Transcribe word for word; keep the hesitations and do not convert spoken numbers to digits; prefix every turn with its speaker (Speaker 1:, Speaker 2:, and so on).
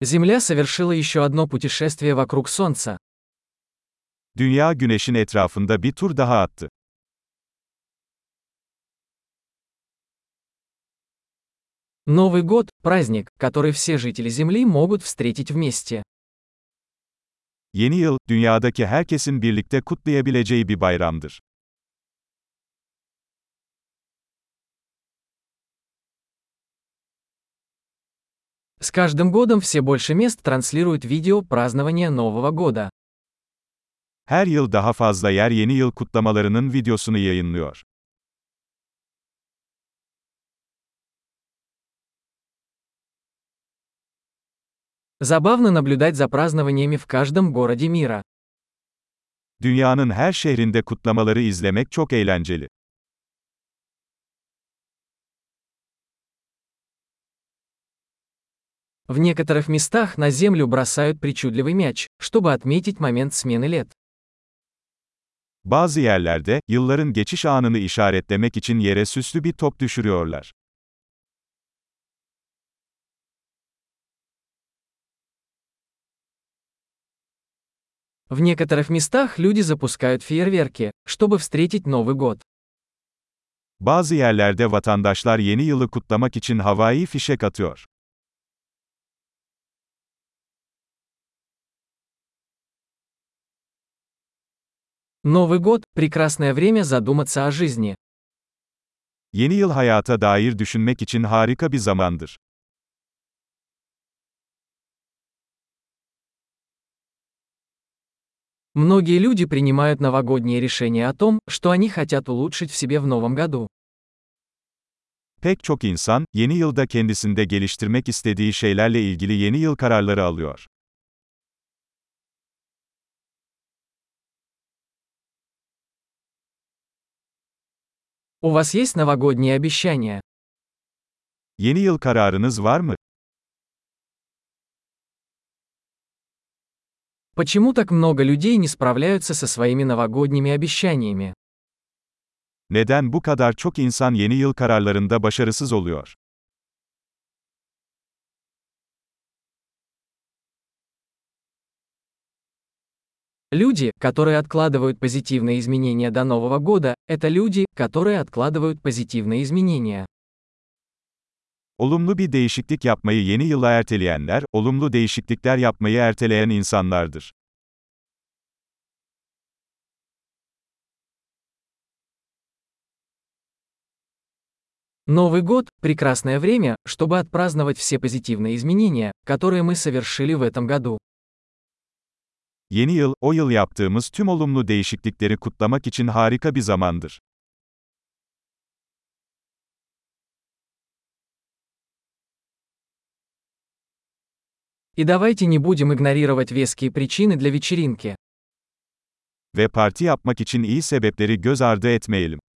Speaker 1: Земля совершила еще одно путешествие вокруг Солнца.
Speaker 2: Dünya Güneş'in etrafında bir tur daha attı.
Speaker 1: Новый год– праздник, который все жители Земли могут встретить вместе.
Speaker 2: Yeni yıl, dünyadaki herkesin birlikte kutlayabileceği bir bayramdır.
Speaker 1: С каждым годом все больше мест транслируют видео празднования Нового года.
Speaker 2: Her yıl daha fazla yer yeni yıl kutlamalarının videosunu yayınlıyor.
Speaker 1: Забавно наблюдать за празднованиями в каждом городе мира.
Speaker 2: Dünyanın her şehrinde kutlamaları izlemek çok eğlenceli.
Speaker 1: В некоторых местах на землю бросают причудливый мяч, чтобы отметить момент смены лет.
Speaker 2: Bazı yerlerde, yılların geçiş anını işaretlemek için yere süslü bir top düşürüyorlar.
Speaker 1: В некоторых местах люди запускают фейерверки, чтобы встретить Новый год.
Speaker 2: Bazı yerlerde vatandaşlar yeni yılı kutlamak için havai fişek atıyor.
Speaker 1: Новый год– прекрасное время задуматься о жизни.
Speaker 2: Yeni yıl hayata dair düşünmek için harika bir zamandır.
Speaker 1: Многие люди принимают новогодние решения о том, что они хотят улучшить в себе в новом году.
Speaker 2: Pek çok insan, yeni yılda kendisinde geliştirmek istediği şeylerle ilgili yeni yıl kararları alıyor.
Speaker 1: У вас есть новогодние обещания?
Speaker 2: Yeni yıl kararınız var mı?
Speaker 1: Почему так много людей не справляются со своими новогодними обещаниями?
Speaker 2: Neden bu kadar çok insan yeni yıl kararlarında başarısız oluyor?
Speaker 1: Люди, которые откладывают позитивные изменения до Нового года, это люди, которые откладывают позитивные изменения.
Speaker 2: Olumlu bir değişiklik yapmayı yeni yıla erteleyenler, olumlu değişiklikler yapmayı erteleyen insanlardır.
Speaker 1: Новый год– прекрасное время, чтобы отпраздновать все позитивные изменения, которые мы совершили в этом году.
Speaker 2: Yeni yıl, o yıl yaptığımız tüm olumlu değişiklikleri kutlamak için harika bir zamandır.
Speaker 1: И давайте не будем игнорировать веские причины для вечеринки.
Speaker 2: Ve parti yapmak için iyi sebepleri göz ardı etmeyelim.